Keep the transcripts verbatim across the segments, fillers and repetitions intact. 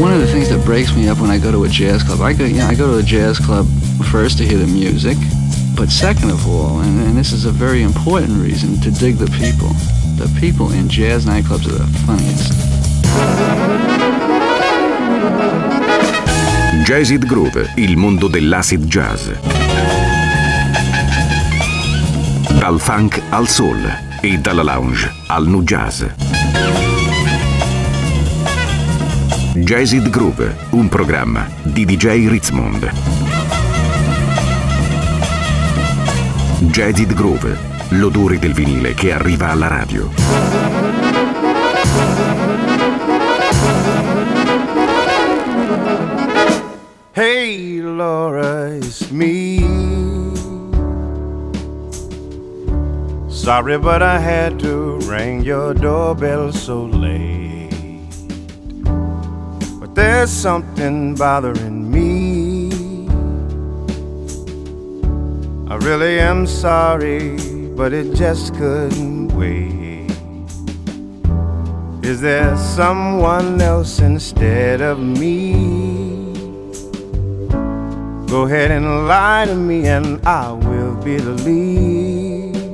One of the things that breaks me up when I go to a jazz club, I go, you know, I go to a jazz club first to hear the music, but second of all, and, and this is a very important reason, to dig the people. The people in jazz nightclubs are the funniest. Jazzid Groove, il mondo dell'acid jazz. Dal funk al soul e dalla lounge al nu jazz. Jazzid Groove, un programma di D J Ritzmond. Jazzid Groove, l'odore del vinile che arriva alla radio. Hey Laura, it's me. Sorry, but I had to ring your doorbell so late. But there's something bothering me. I really am sorry, but it just couldn't wait. Is there someone else instead of me? Go ahead and lie to me and I will believe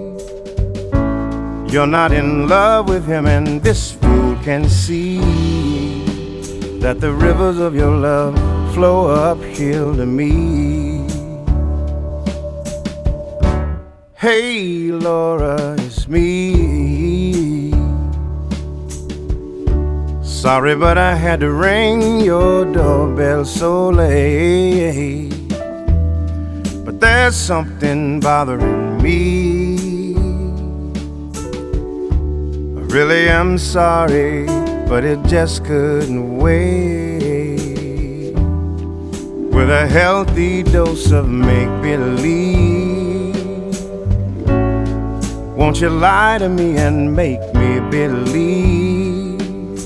you're not in love with him, and this fool can see that the rivers of your love flow uphill to me. Hey Laura, it's me. Sorry, but I had to ring your doorbell so late. But there's something bothering me. I really am sorry, but it just couldn't wait. With a healthy dose of make-believe, won't you lie to me and make me believe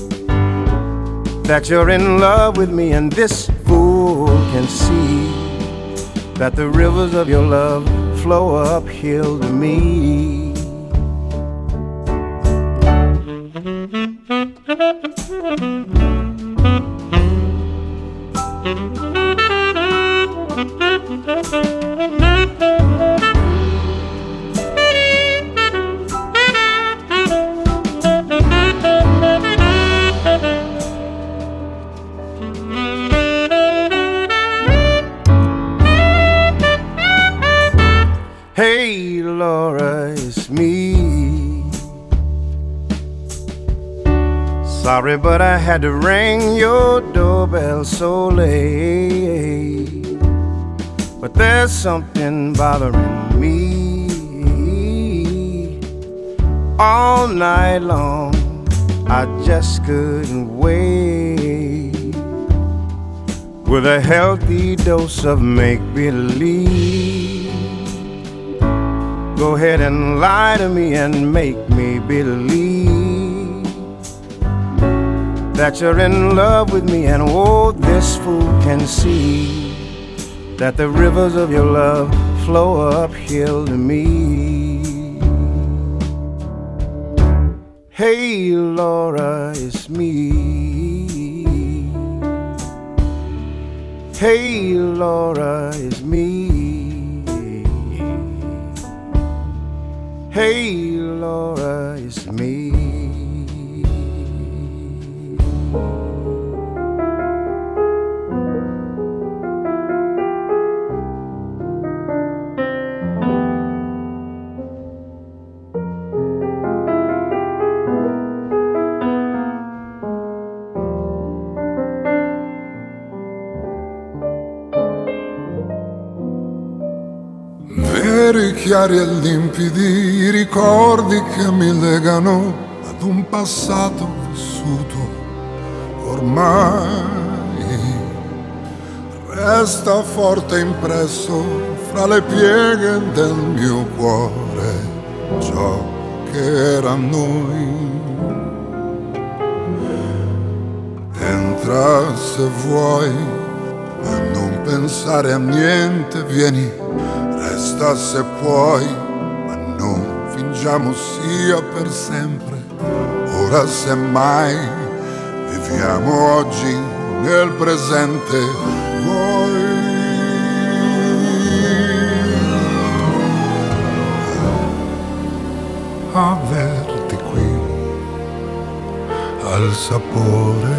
that you're in love with me, and this fool can see that the rivers of your love flow uphill to me. Hey Laura, it's me. Sorry, but I had to ring your doorbell so late. But there's something bothering me. All night long I just couldn't wait. With a healthy dose of make-believe, go ahead and lie to me and make me believe that you're in love with me, and oh, this fool can see that the rivers of your love flow uphill to me. Hey Laura, it's me. Hey Laura, it's me. Hey Laura, it's me. Veri, chiari e limpidi i ricordi che mi legano ad un passato vissuto. Ormai resta forte impresso fra le pieghe del mio cuore ciò che era noi. Entra se vuoi, ma non pensare a niente, vieni. Resta se puoi, ma non fingiamo sia per sempre. Ora semmai viviamo oggi nel presente vuoi averti qui al sapore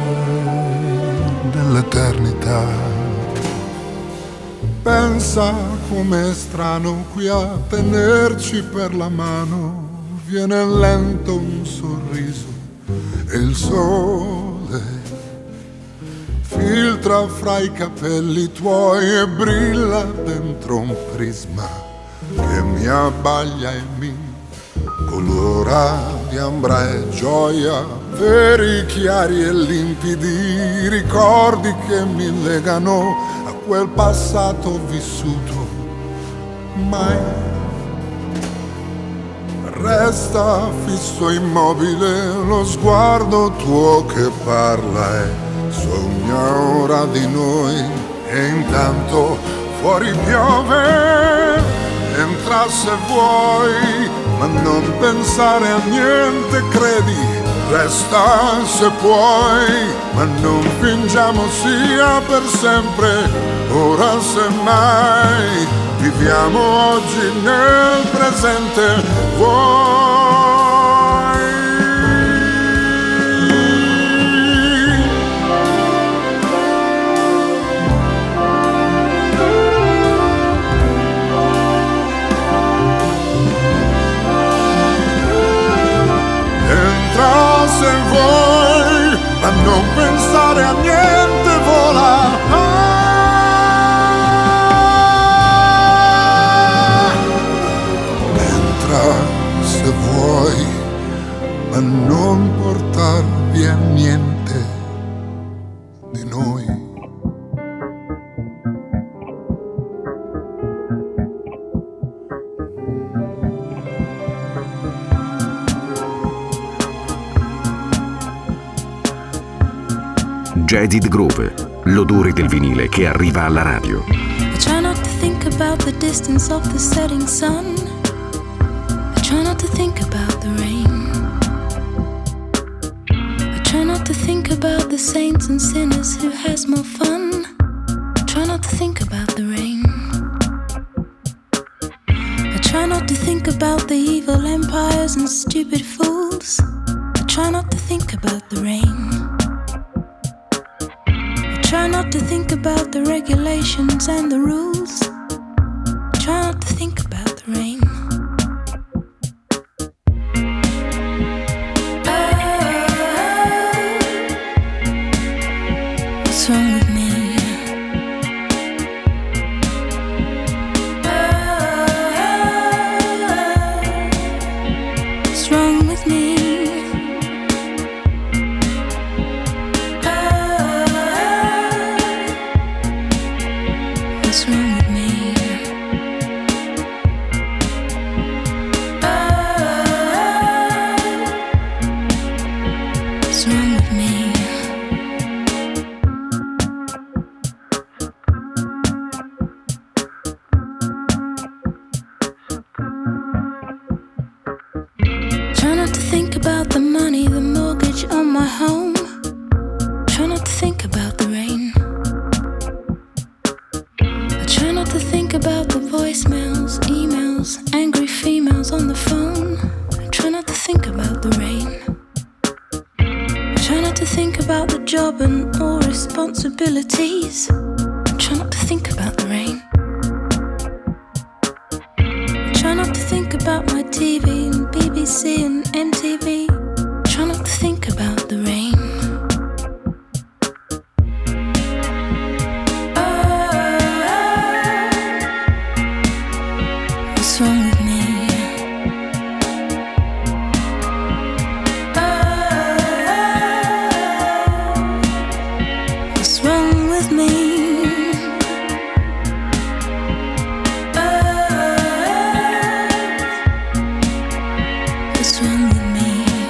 dell'eternità. Pensa com'è strano qui a tenerci per la mano, viene lento un sorriso e il sole filtra fra i capelli tuoi e brilla dentro un prisma che mi abbaglia e mi colora di ambra e gioia, veri, chiari e limpidi, ricordi che mi legano a quel passato vissuto. Mai resta fisso immobile lo sguardo tuo che parla e sogna ora di noi, e intanto fuori piove, entra se vuoi, ma non pensare a niente, credi, resta se puoi, ma non fingiamo sia per sempre, ora semmai, viviamo oggi nel presente, vuoi. Se vuoi, ma non pensare a niente, vola. Ah, entra se vuoi, ma non portar via niente di noi. Jaded Groove, l'odore del vinile che arriva alla radio. I try not to think about the distance of the setting sun. I try not to think about the rain. I try not to think about the saints and sinners who has more fun. I try not to think about the rain. I try not to think about the evil empires and stupid fools. I try not to think about the rain. Try not to think about the regulations and the rules. Try not to think about the rain. Oh, what's wrong with me? Oh, what's wrong with me? What's wrong with me? Oh, what's wrong with me? Try not to think about the money, the mortgage on my home. Try not to think about the rain. Try not to think about the voicemails, emails, angry females on the phone. Try not to think about the rain. Try not to think about the job and all responsibilities. Try not to think about the rain. Try not to think about my T V and B B C and M T V. Try not to think about the rain. What's wrong with me? Oh, what's wrong with me? Oh, what's wrong with me?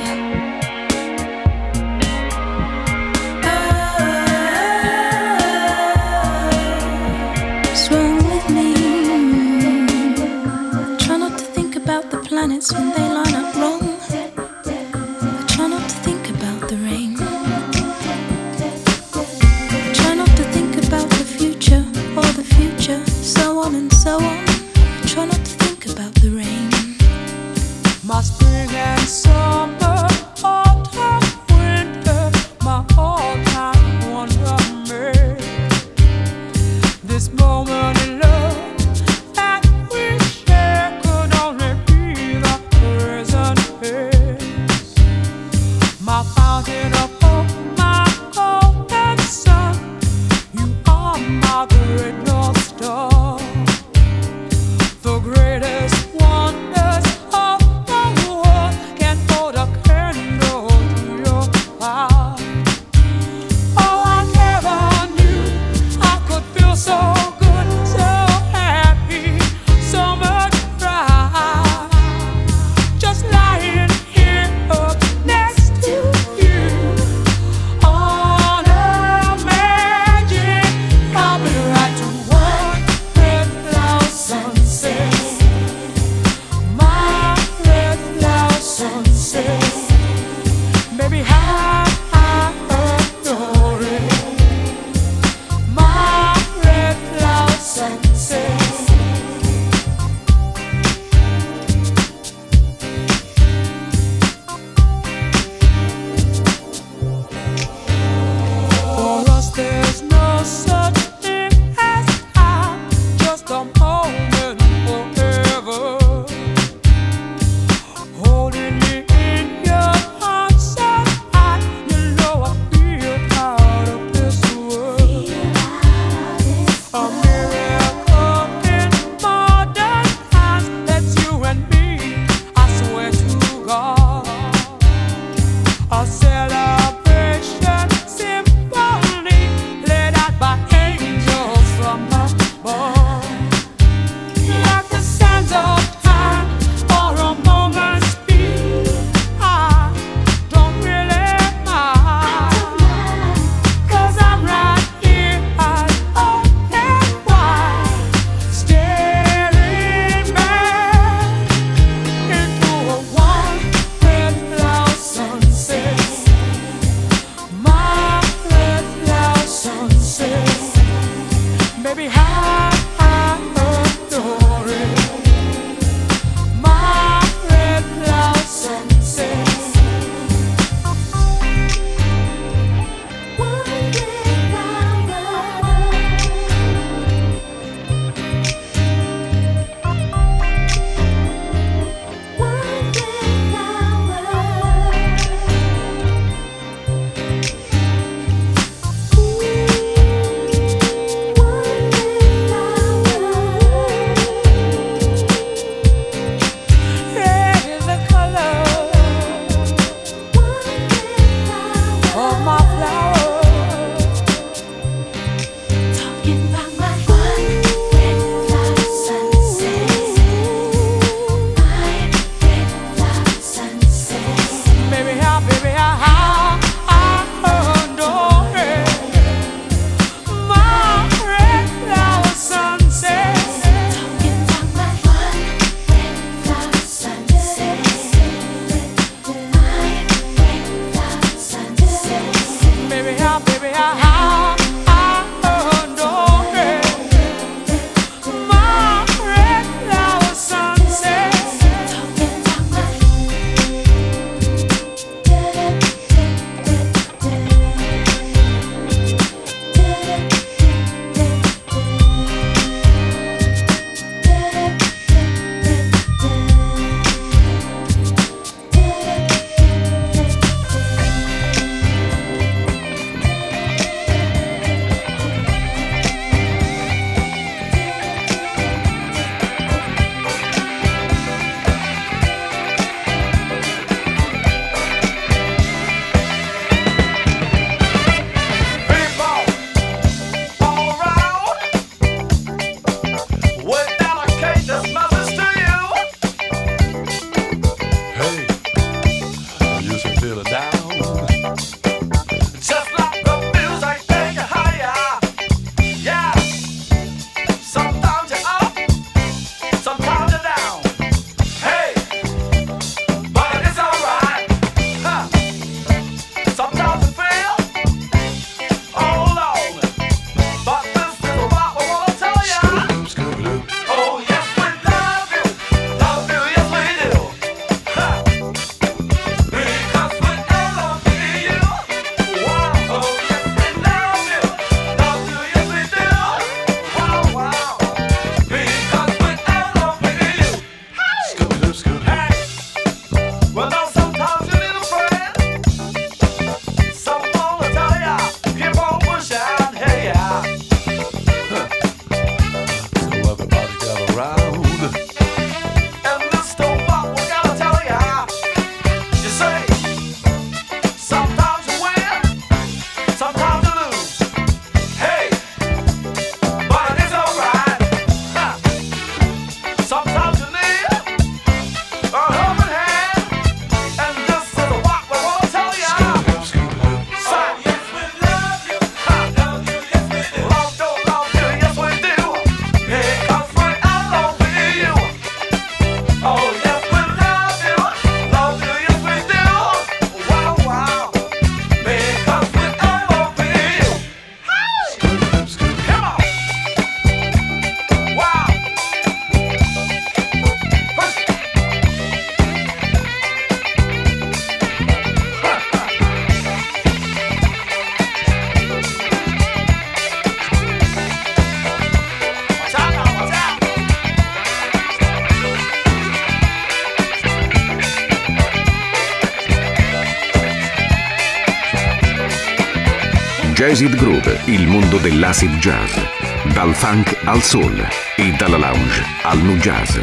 Jazzid Groove, il mondo dell'acid jazz. Dal funk al soul e dalla lounge al nu jazz.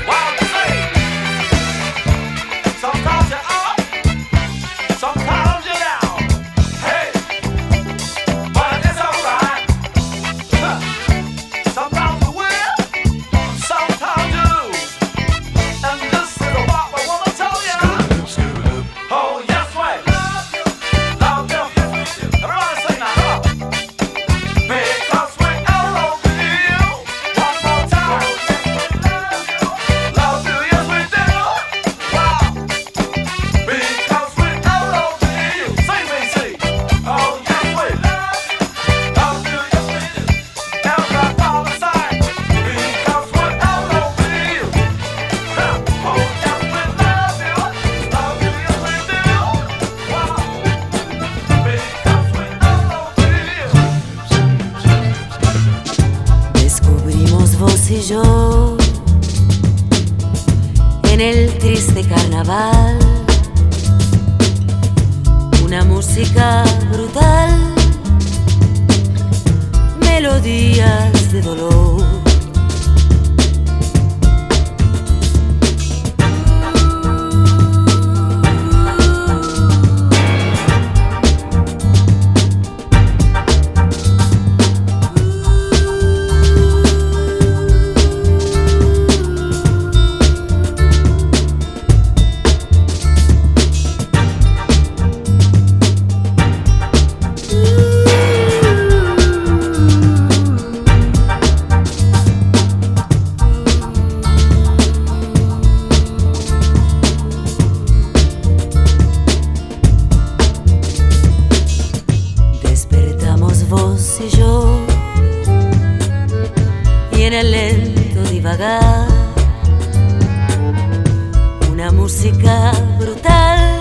Yo en el triste carnaval, una música brutal, melodías de dolor. Una música brutal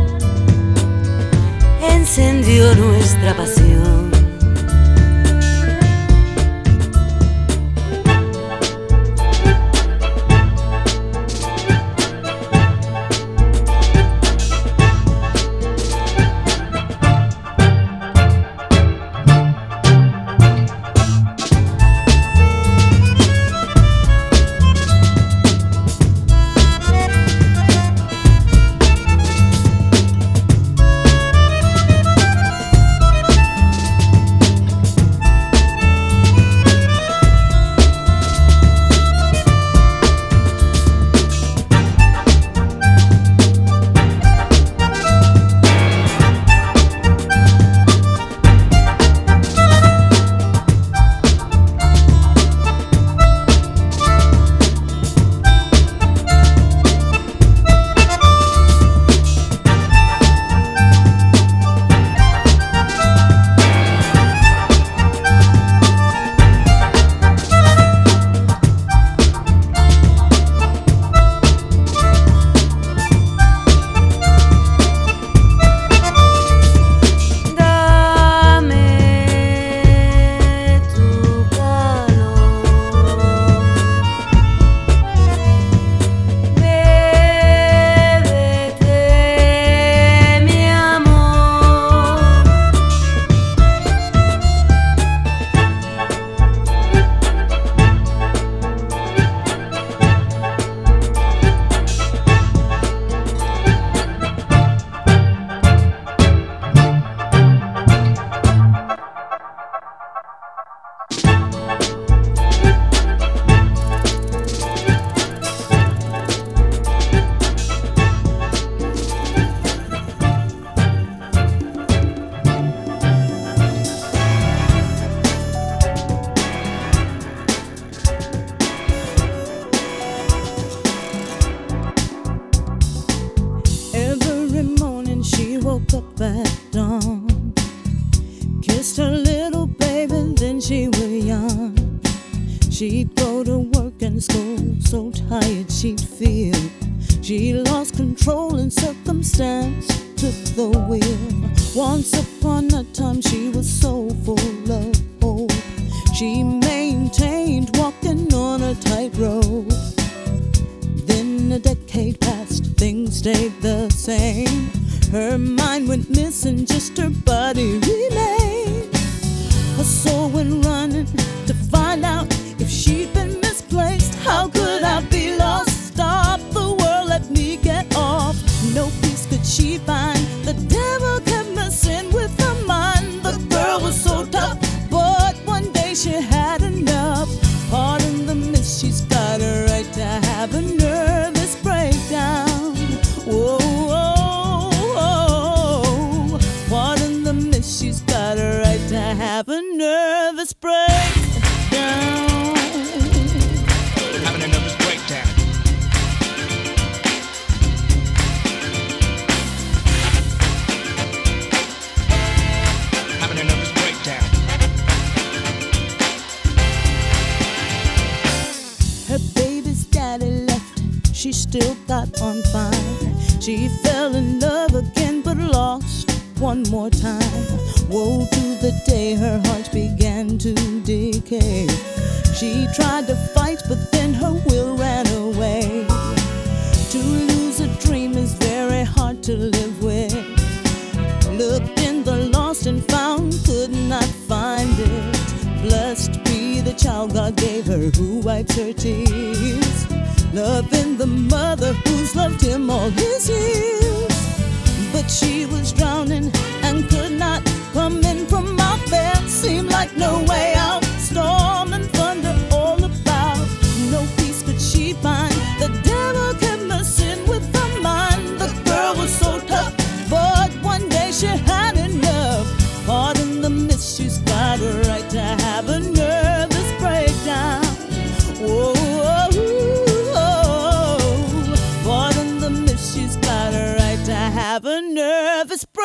encendió nuestra pasión. She'd go to work and school, so tired she'd feel. She lost control and circumstance took the wheel. Once upon a time she was so full of hope. She maintained walking on a tightrope. Then a decade passed, things stayed the same. Her mind went missing, just her body remained. nervous breakdown. Having a nervous breakdown. Having a nervous breakdown. Her baby's daddy left, she still got on fine. She fell in love again but lost one more time. Woe to the day her heart began to decay. She tried to fight but then her will ran away. To lose a dream is very hard to live with. Looked in the lost and found, could not find it. Blessed be the child God gave her who wipes her tears. Loving the mother who's loved him all his years. But she was drowning and could not come in from out there. Seemed like no way out. Storm and thunder all about. No peace could she find. The devil kept messing with her mind. The girl was so tough, but one day she had enough. Pardon the miss, she's got a right to have a nervous breakdown. Whoa, whoa, whoa. Pardon the miss, she's got a right to have a nervous breakdown.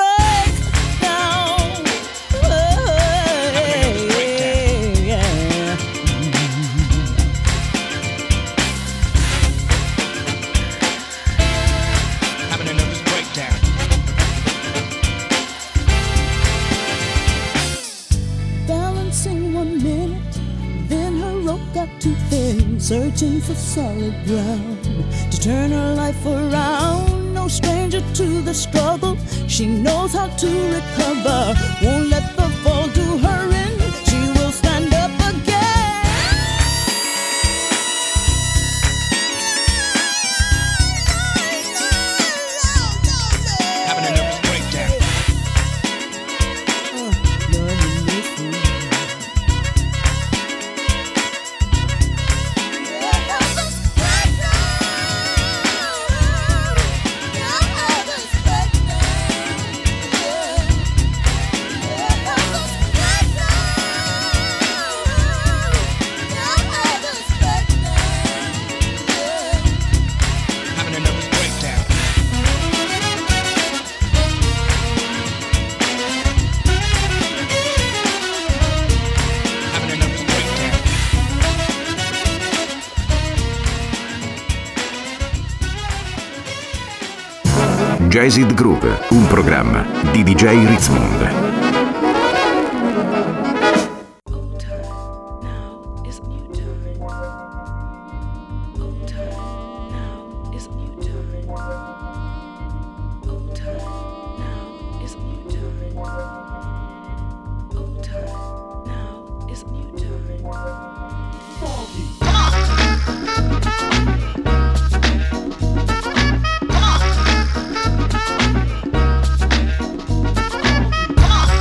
Too thin, searching for solid ground to turn her life around. No stranger to the struggle, she knows how to recover. Won't let the fall do her in, she will stand up again. Having a nervous breakdown. Oh, Lord, you miss me. Jazzed Groove, un programma di D J Ritzmond. Come on!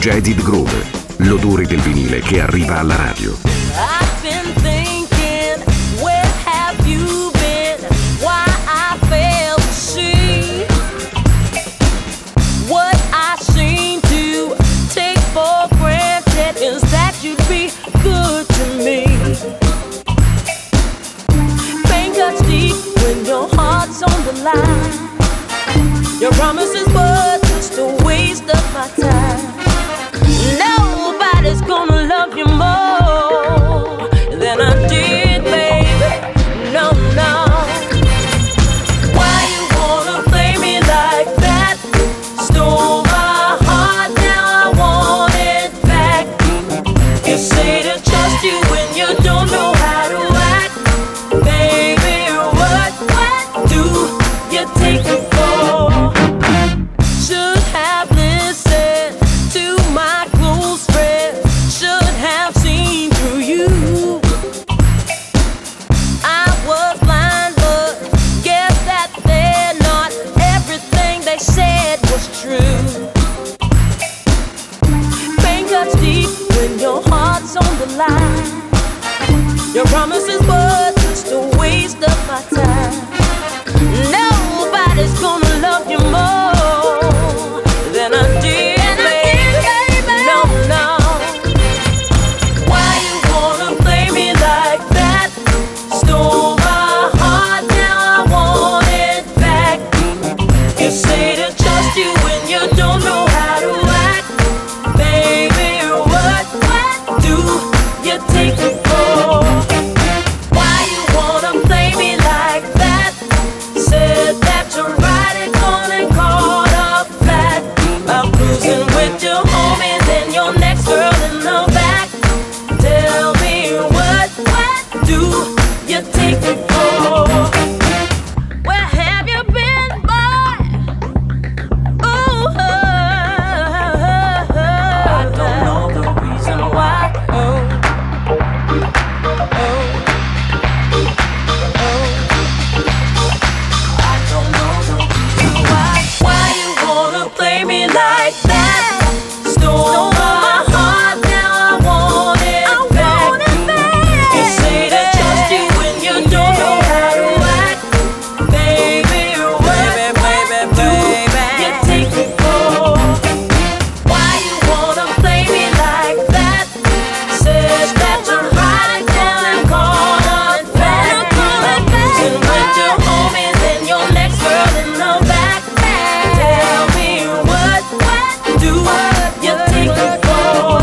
Jaded Groove, l'odore del vinile che arriva alla radio. I've been thinking, where have you been? Why I fail to see what I seem to take for granted is that you'd be good to me. Pain cuts deep when your heart's on the line. Your promises were just a waste of my time. Nobody's gonna love you more than I did, baby. No, no. Why you wanna play me like that? Stole my heart, now I want it back. You say to trust you when you don't know how to act. Baby, what, what do you take it for? Should have listened to my close friends, should have seen through you. I was blind, but guess that they're not. Everything they said was true. Pain cuts deep when your heart's on the line. Your promises were just a waste of my time. Nobody's gonna love you more than I did, baby. No, no. Why you wanna play me like that? Stole my heart, now I want it back. You say to trust you when you don't know how to act. Baby, what, what do you take it for? Why you wanna play me like that? Said that you're riding on and caught up flat. I'm cruising with your homies and your next girl in the back. Tell me what, what do you take it for? Where have you been, boy? Ooh, I don't know the reason why. Oh, oh, oh. I don't know the reason why. Why you wanna play me like that? Stole my heart, now I want it back. You say to trust you when you don't know how to act. Baby, what, what do you take it for? Why you wanna play me like that? Says that you're riding down and caught on fast. I'm cruising with your homies and your next girl in the back. Tell me what, what do you take it for?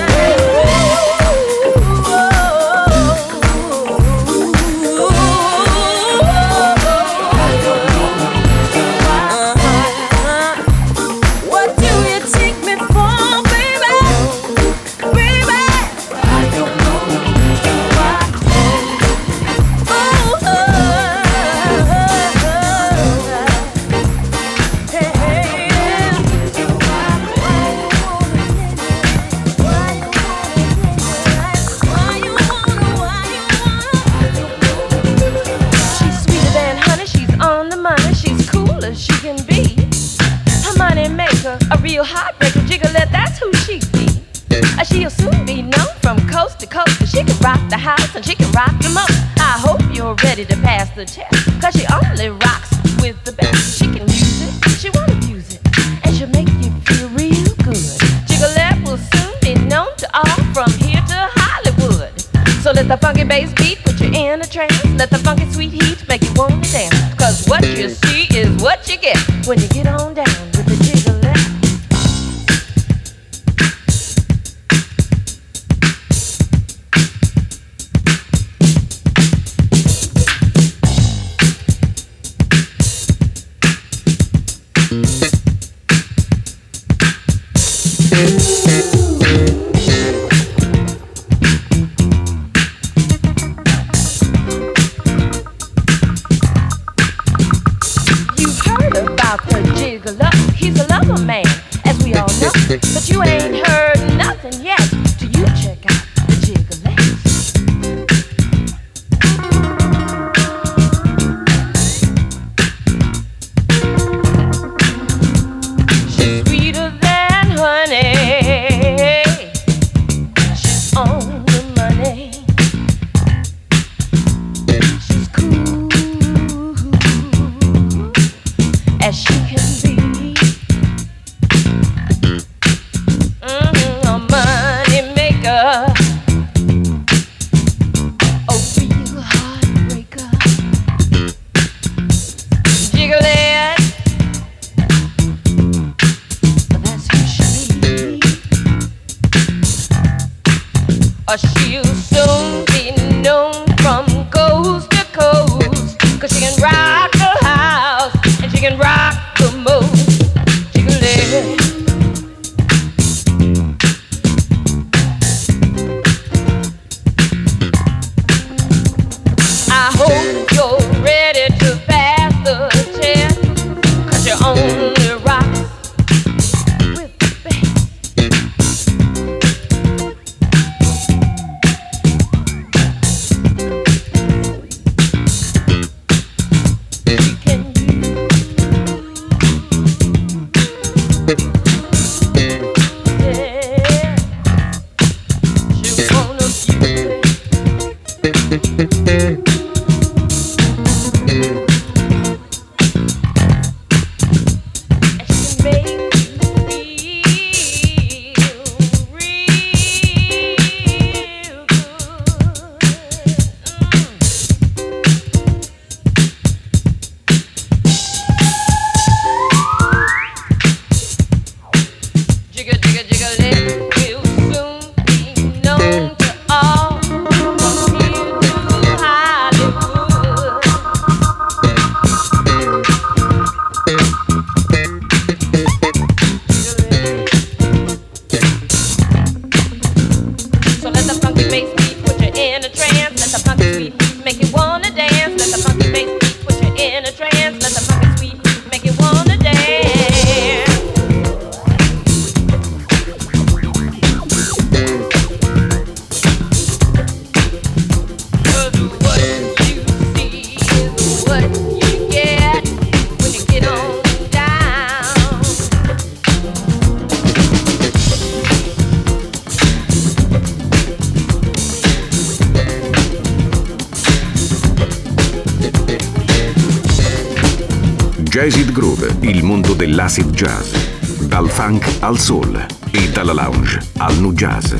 What do you take me for, baby? Baby, I don't know why. Oh, hey, hey, she's sweeter than honey, she's on the money, she's cool as she can be. A money maker, a real heartbreaker, Jiggalette, that's who she be. Uh, She'll soon be known from coast to coast, 'cause she can rock the house and she can rock the most. I hope you're ready to pass the test, 'cause she only rocks with the best. She can use it, she won't abuse it, and she'll make you feel real good. Jiggalette will soon be known to all from here to Hollywood. So let the funky bass beat put you in a trance. Let the funky sweet heat make you wanna dance. 'Cause what you see is what you get when you get on down with the Jiggalette. You've heard about the Jiggalette, he's a lover man, as we all know. But you ain't heard nothing yet till you check out the Jiggalette. She's sweeter than honey. or she'll soon be known from coast to coast. 'Cause she can rock the house and she can rock the most. Jiggle. I hope you're ready to pass the test, 'cause you only rock with the best. You can yeah. You wanna be Jazzid Groove, il mondo dell'acid jazz. Dal funk al soul e dalla lounge al nu jazz.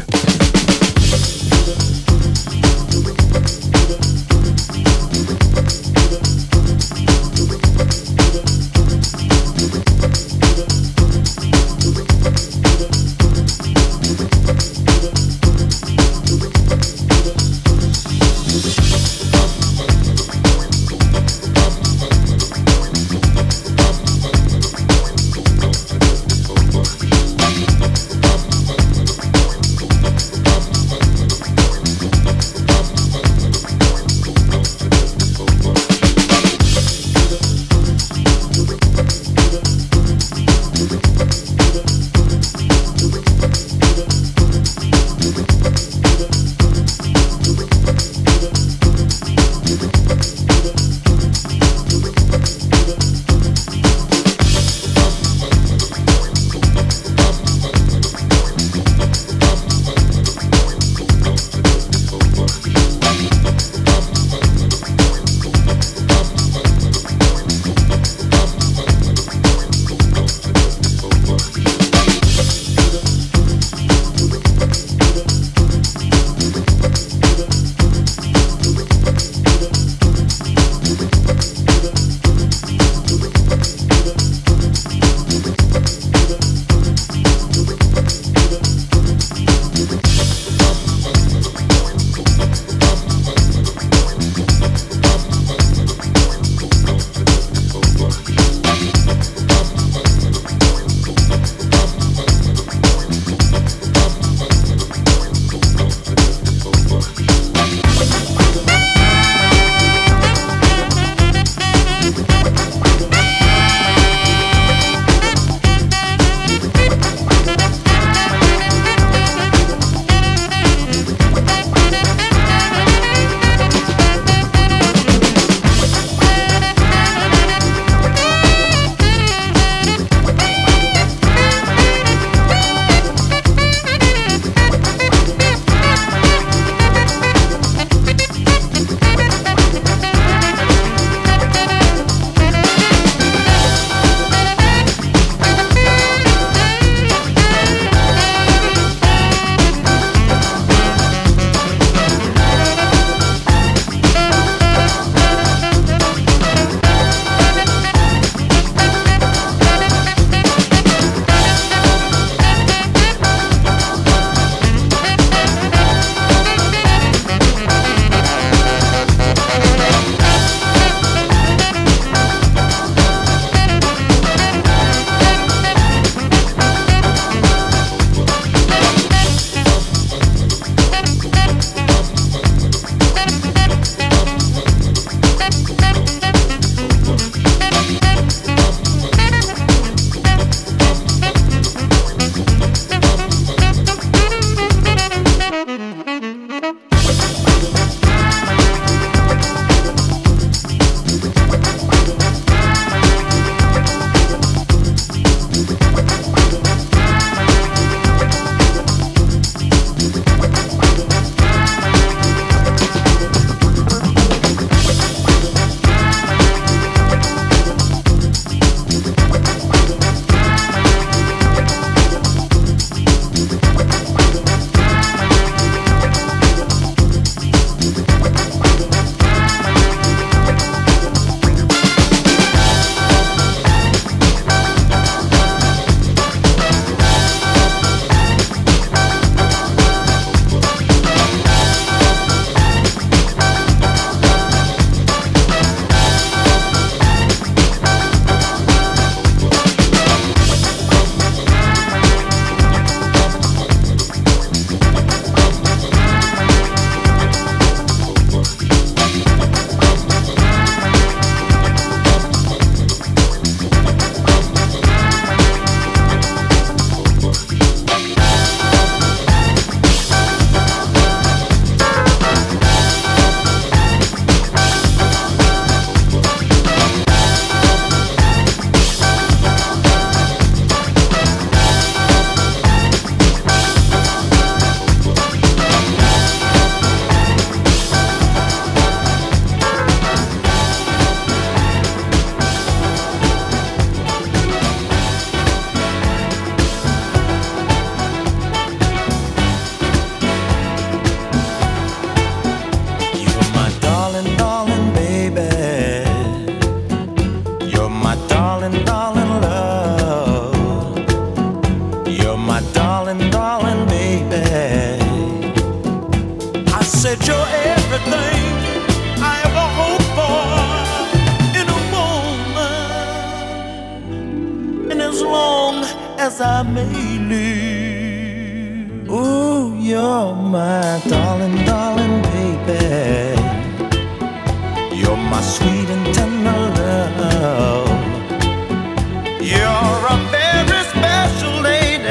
as I may live. Ooh, you're my darling, darling baby. You're my sweet and tender love. You're a very special lady.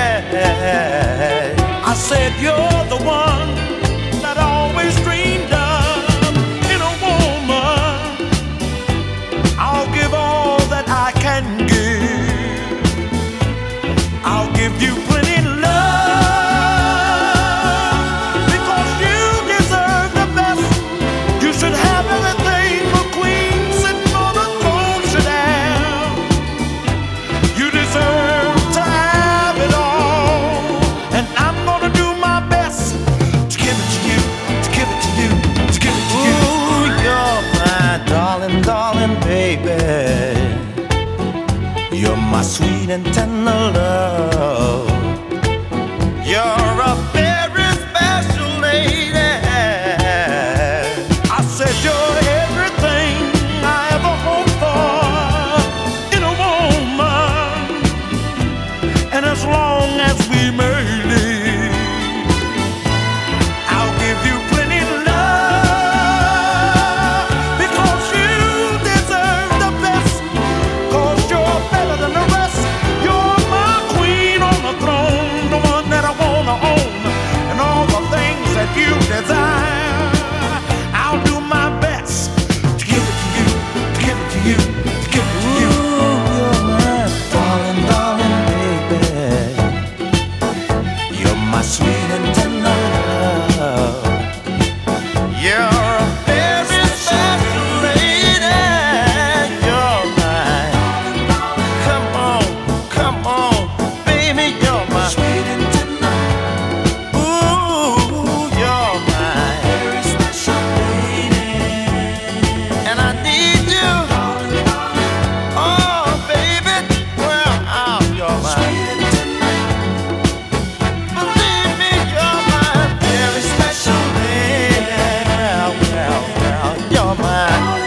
I said you're the one that I always dreamed of in a woman. I'll give all that I can give. I'll give you plenty love because you deserve the best. You should have everything a queen sitting on the throne should have. You deserve to have it all, and I'm gonna do my best to give it to you, to give it to you, to give it to you. Ooh, you're my darling, darling baby. You're my sweet and tender love. You're a very special lady. I said you're everything I ever hoped for in a woman. And as long as we may live, I'll give you plenty love because you deserve the best. Cause you're better than the rest. You're my queen on the throne, the one that I wanna own, and all the things that you desire. I'll do my best to give it to you, to give it to you, to give it to you. Ooh, you're my darling, darling baby. You're my sweet and tender love. You're a very special lady. You're mine. Come on, come on, baby, you're my sweet and tender. Ooh, you're my very special lady. And I need you. Oh, baby, well, oh, you're my sweet and tender. Believe me, you're my very special lady. Well, well, well, you're mine.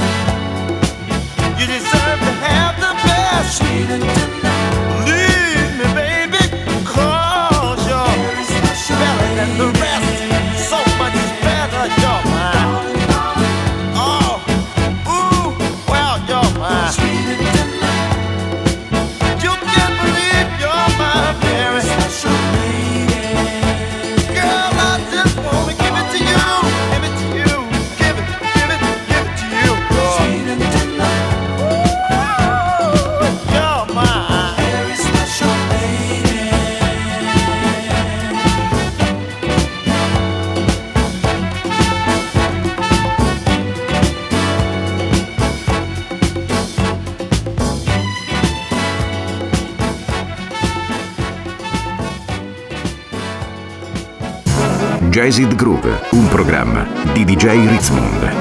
You deserve to have the best. Sweet and tender. Believe me, baby, cause you're better than the rest. So much better, you're mine. Oh, ooh, well, you're mine. Sweet and tender. You can't believe you're my very special lady. Girl, I just wanna give it to you, give it to you, give it, give it, give it to you. Sweet and tender. Ooh, you're my very special lady. Jazzid Groove, un programma di D J Ritzmond.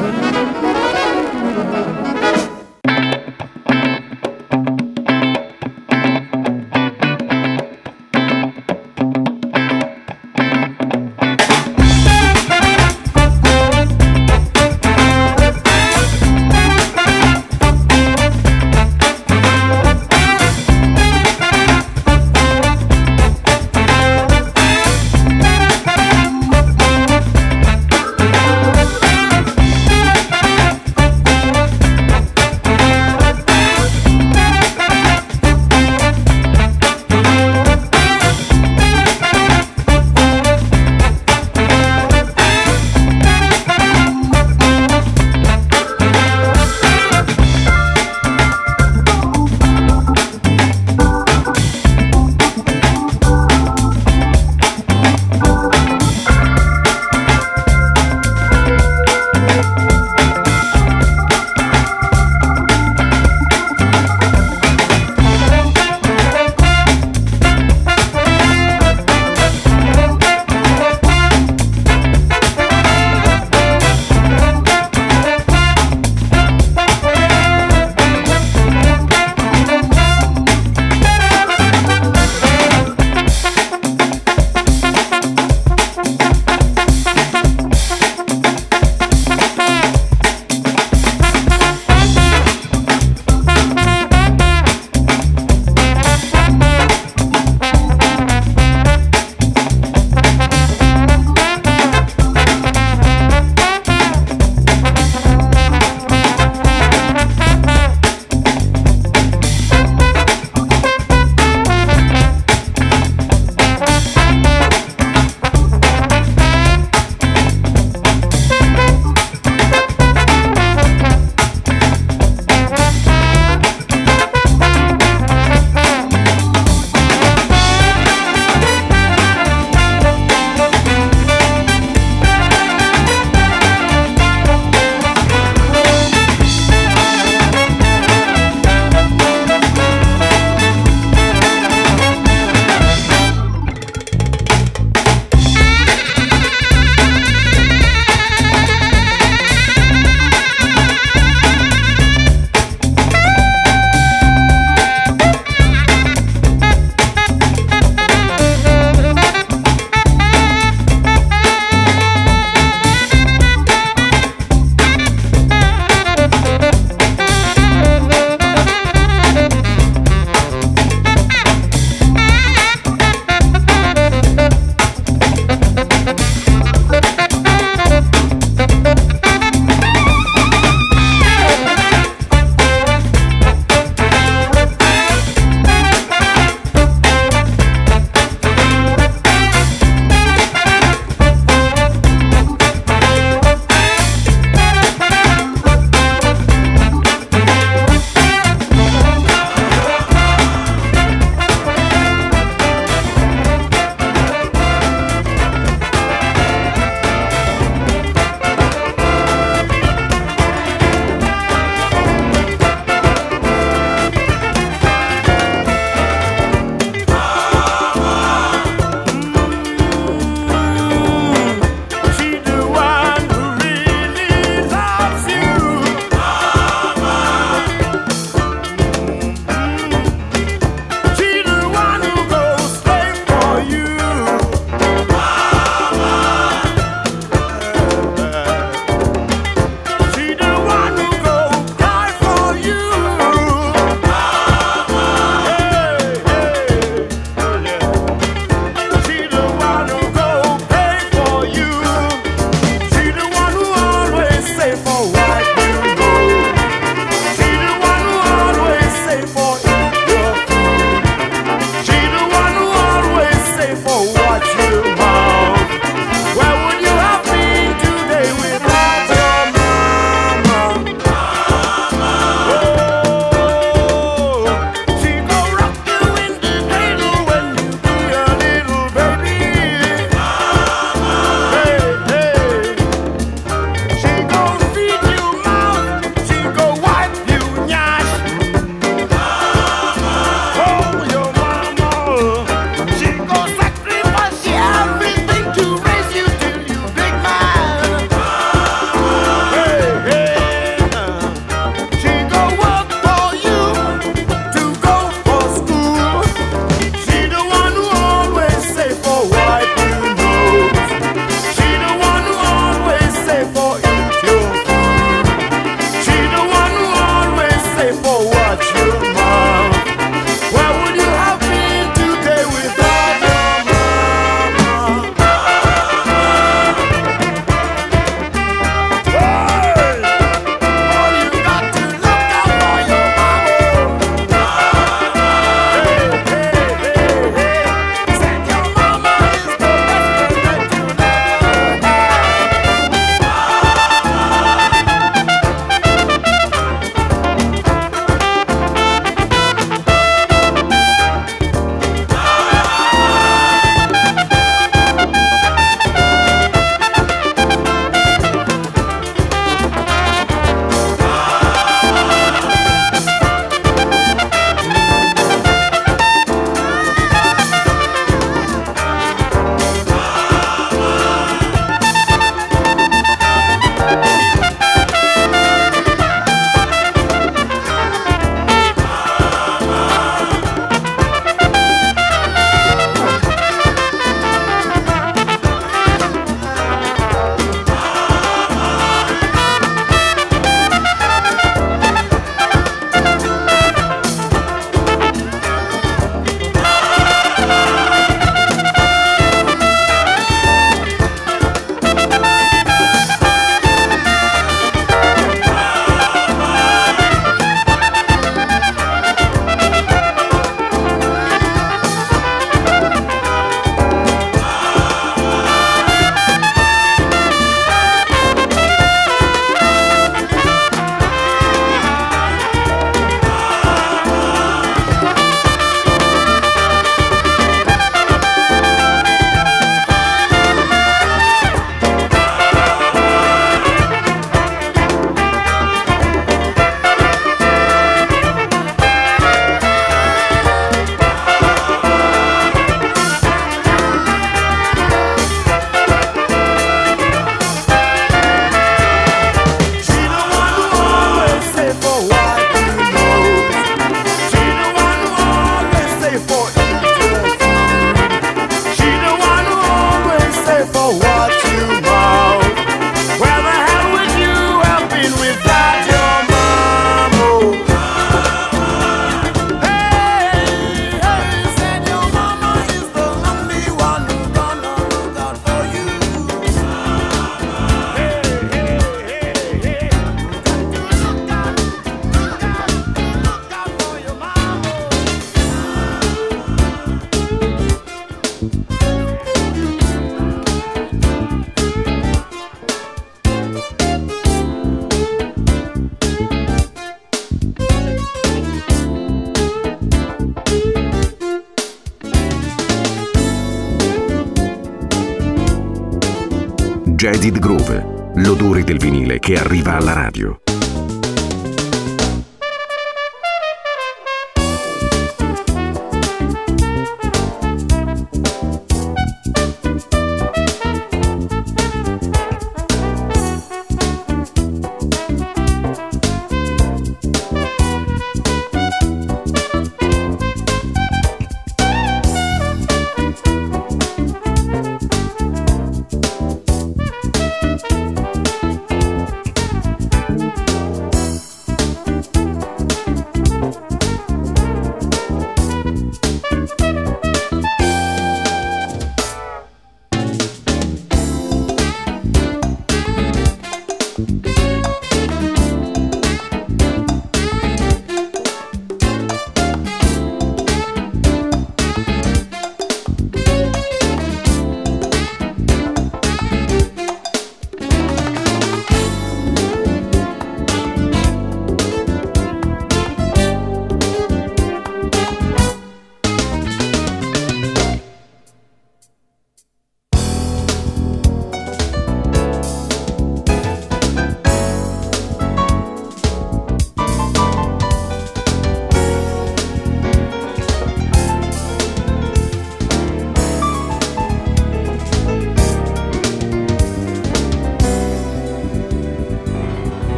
Jazzed Groove, l'odore del vinile che arriva alla radio.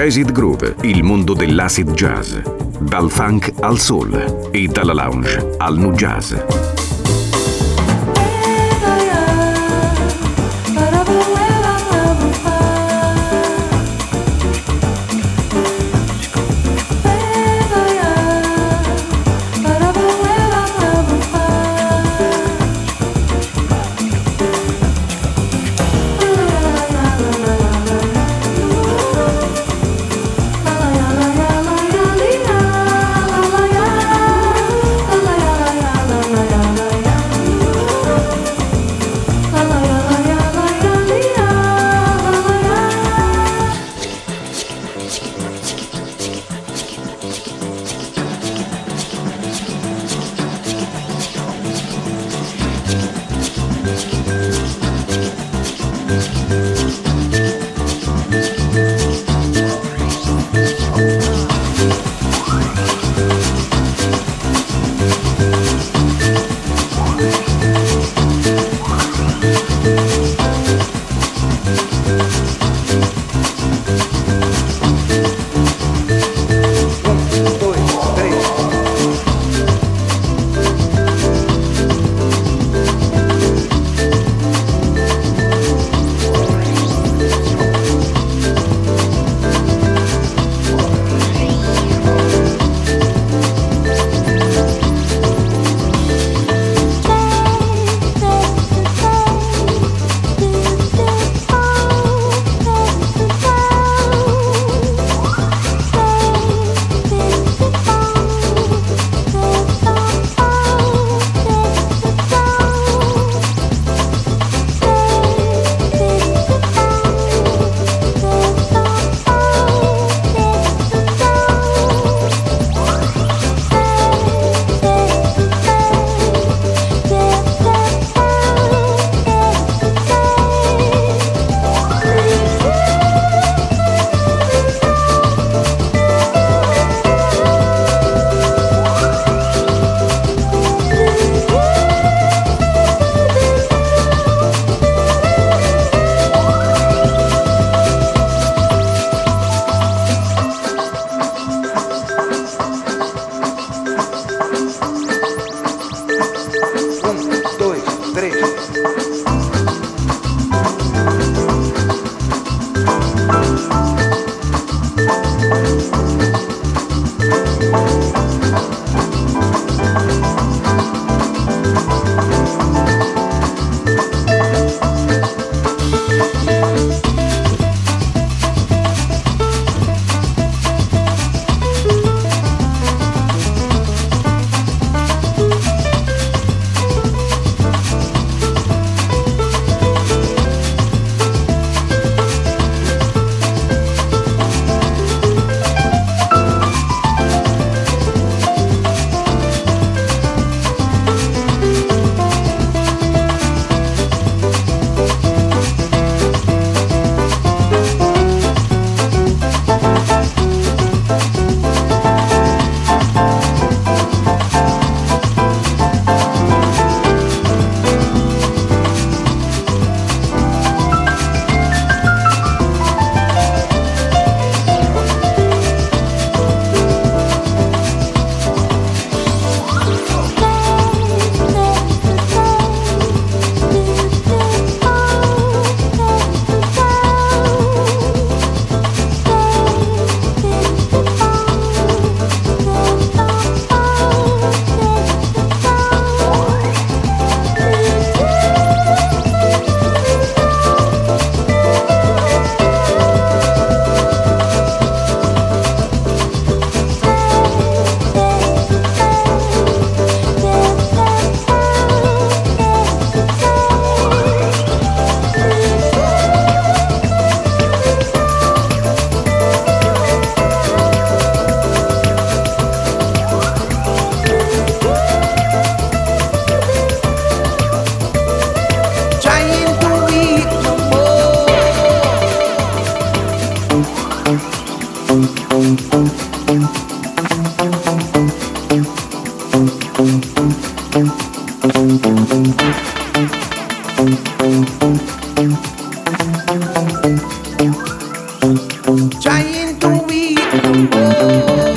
Acid Groove, il mondo dell'acid jazz. Dal funk al soul e dalla lounge al nu jazz. trying to read the world.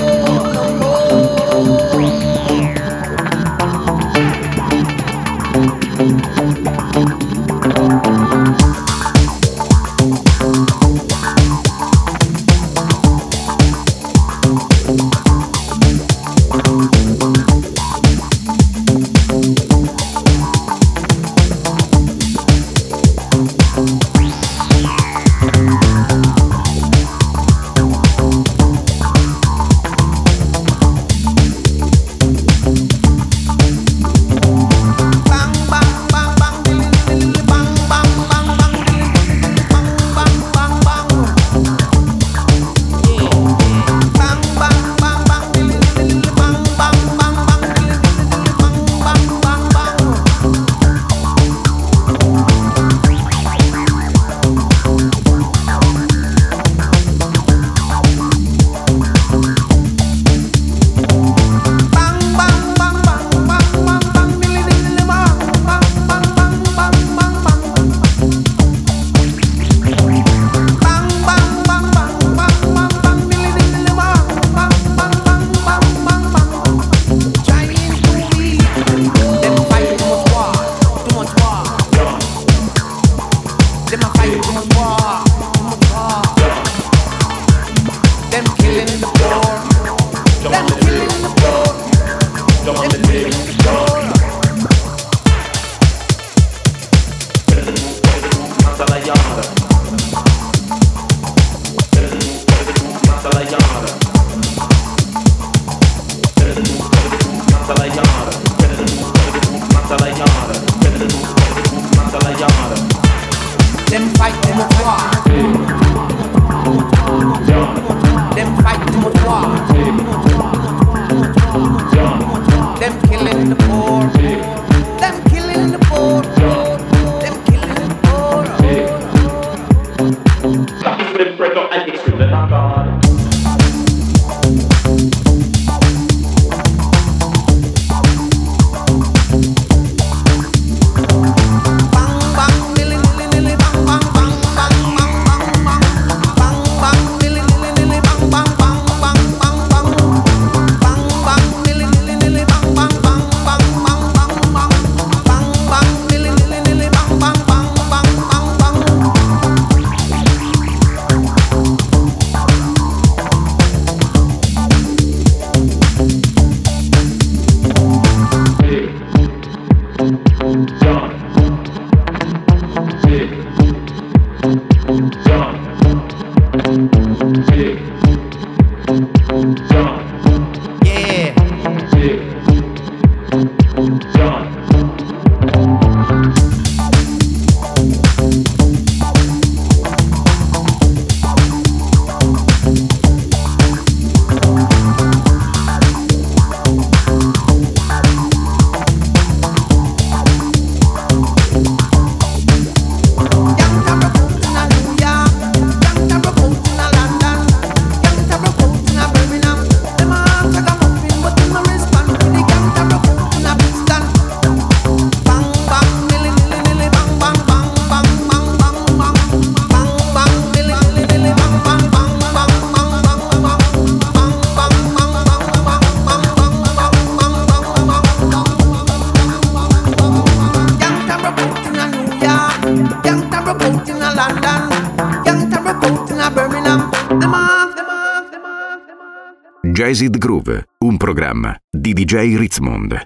Jazz It Groove, un programma di D J Ritzmond.